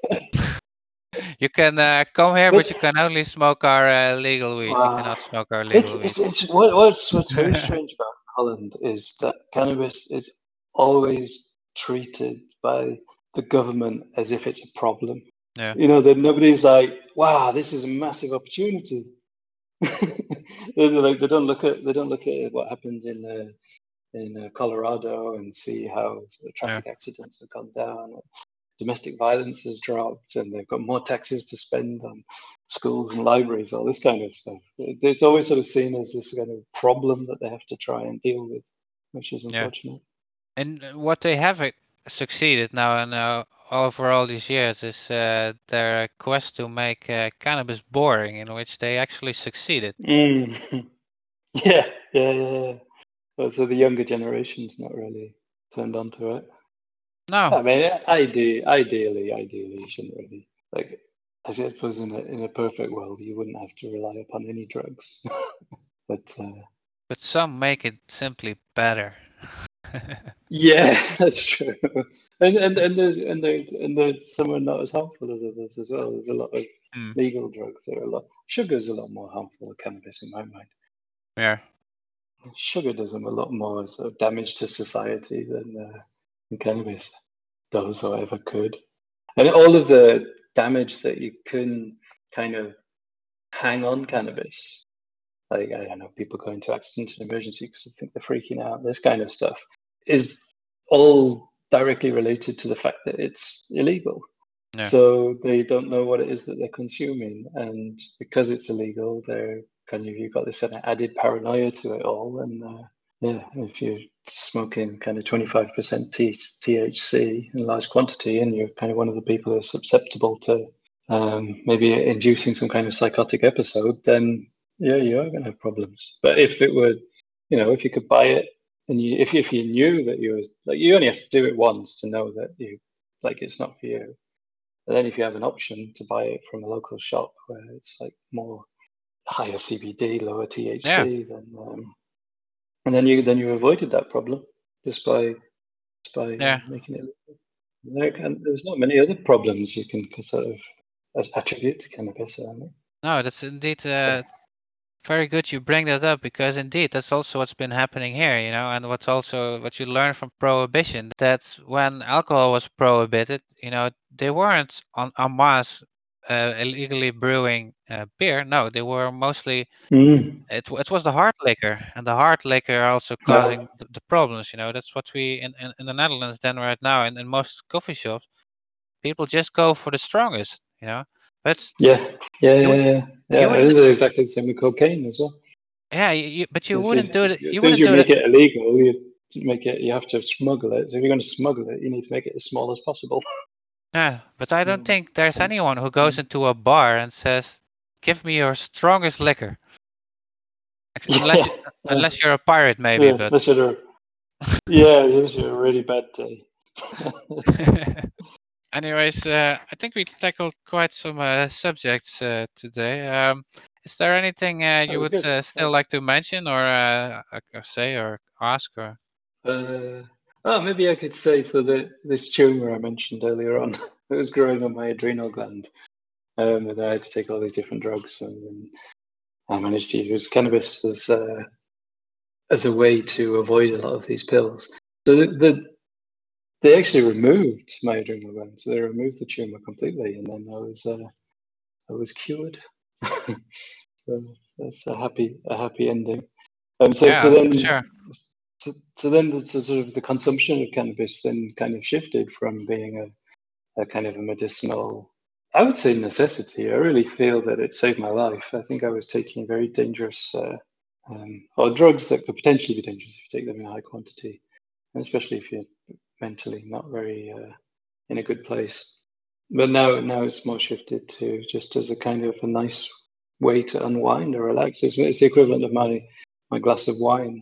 you can come here, But but you can only smoke our legal weed. You wow, cannot smoke our legal weed. it's what's very strange about Holland is that cannabis is always treated by the government as if it's a problem. Yeah, That nobody's like, wow, this is a massive opportunity. They don't look at what happens in Colorado and see how yeah, traffic accidents have gone down, domestic violence has dropped, and they've got more taxes to spend on schools and libraries, all this kind of stuff. It's always sort of seen as this kind of problem that they have to try and deal with, which is yeah. unfortunate. And what they have succeeded now and over all these years is their quest to make cannabis boring, in which they actually succeeded. Mm. Yeah. Well, so the younger generation's not really turned onto it. No, I mean, ideally, you shouldn't really like. I suppose in a perfect world, you wouldn't have to rely upon any drugs. But but some make it simply better. yeah, that's true. And some are not as harmful as others as well. There's a lot of Mm, legal drugs that are sugar's a lot more harmful than cannabis in my mind. yeah, Sugar does them a lot more sort of damage to society than cannabis does or ever could. And all of the damage that you can kind of hang on cannabis, like I don't know, people going to accident and emergency because they think they're freaking out, this kind of stuff, is all directly related to the fact that it's illegal. yeah, So they don't know what it is that they're consuming, and because it's illegal, they're kind of you've got this kind of added paranoia to it all, and yeah, if you're smoking kind of 25% THC in large quantity, and you're kind of one of the people who are susceptible to maybe inducing some kind of psychotic episode, then yeah, you are going to have problems. But if it were, if you could buy it, and if you knew that you only have to do it once to know that it's not for you. And then if you have an option to buy it from a local shop where it's like more higher CBD, lower yeah, THC, and then you avoided that problem just by yeah. making it. And there's not many other problems you can sort of attribute to cannabis. I think. No, that's indeed So, very good you bring that up, because indeed that's also what's been happening here, and what you learn from prohibition, that when alcohol was prohibited, they weren't en masse illegally brewing beer. No, they were mostly it was the hard liquor, and the hard liquor also yeah, causing the problems. That's what we in the Netherlands then right now, and in most coffee shops, people just go for the strongest. But yeah, yeah, you yeah, would yeah. you Yeah, it wouldn't is exactly the same with cocaine as well. yeah but you As wouldn't do it. You soon as wouldn't you do it. make it illegal, you have to smuggle it. So if you're going to smuggle it, you need to make it as small as possible. Yeah, but I don't think there's And, anyone who goes into a bar and says, "Give me your strongest liquor." Unless yeah, unless you're a pirate, maybe. yeah, But that's it. Yeah, it was a really bad day. Anyways, I think we tackled quite some subjects today. Is there anything That you was would good. still like to mention or say or ask? Or Oh, maybe I could say so that this tumor I mentioned earlier on, it was growing on my adrenal gland, and I had to take all these different drugs, and I managed to use cannabis as a way to avoid a lot of these pills. So they actually removed my adrenal gland, so they removed the tumor completely, and then I was cured. So that's a happy ending. So yeah, for then sure. so then the sort of the consumption of cannabis then kind of shifted from being a kind of a medicinal, I would say, necessity. I really feel that it saved my life. I think I was taking very dangerous or drugs that could potentially be dangerous if you take them in high quantity, and especially if you're mentally not very in a good place. But now it's more shifted to just as a kind of a nice way to unwind or relax. It's the equivalent of my glass of wine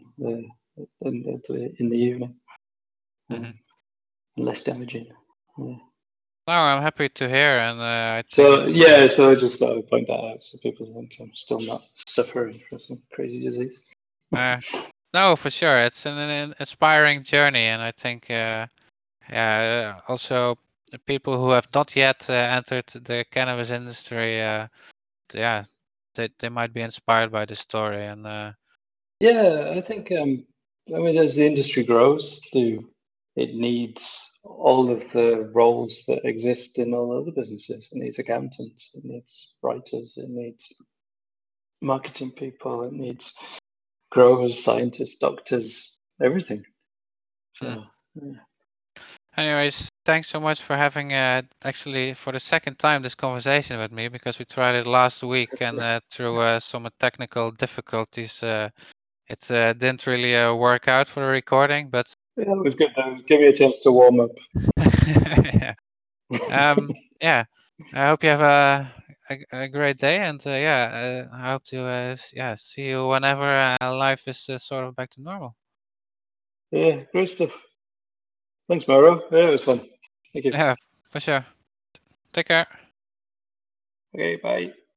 in the evening, Hmm. less damaging. Yeah. No, I'm happy to hear, and I think So yeah, so I just thought I'd point that out so people think I'm still not suffering from some crazy disease. uh, no, for sure, it's an inspiring journey, and I think yeah, also the people who have not yet entered the cannabis industry, yeah, they might be inspired by the story, and Yeah, I think I mean as the industry grows, it needs all of the roles that exist in all other businesses. It needs accountants, it needs writers, it needs marketing people, it needs growers, scientists, doctors, everything. mm. So yeah. Anyways, thanks so much for having actually for the second time this conversation with me, because we tried it last week and through some technical difficulties, it didn't really work out for the recording. But Yeah, it was good. That was give me a chance to warm up. yeah, yeah. I hope you have a great day, and yeah, I hope to yeah, see you whenever life is sort of back to normal. Yeah, great stuff. Thanks, Mauro. Yeah, it was fun. Thank you. Yeah, for sure. Take care. Okay, bye.